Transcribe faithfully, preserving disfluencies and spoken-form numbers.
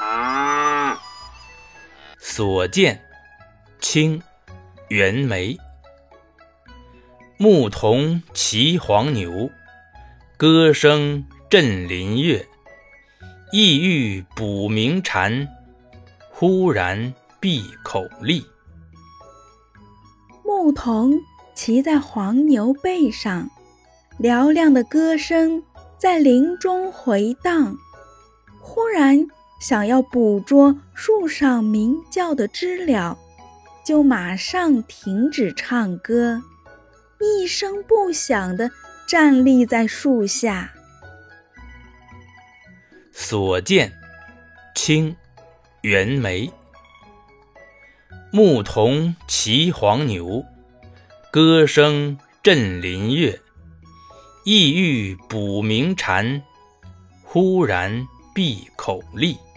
所见，清，袁枚。牧童骑黄牛，歌声振林樾。意欲捕鸣蝉，忽然闭口立。 牧童骑在黄牛背上，嘹亮的歌声在林中回荡。忽然想要捕捉树上鸣叫的知了，就马上停止唱歌，一声不响地站立在树下。 所见，清，袁枚。牧童骑黄牛，歌声振林樾。意欲捕鸣蝉，忽然闭口立。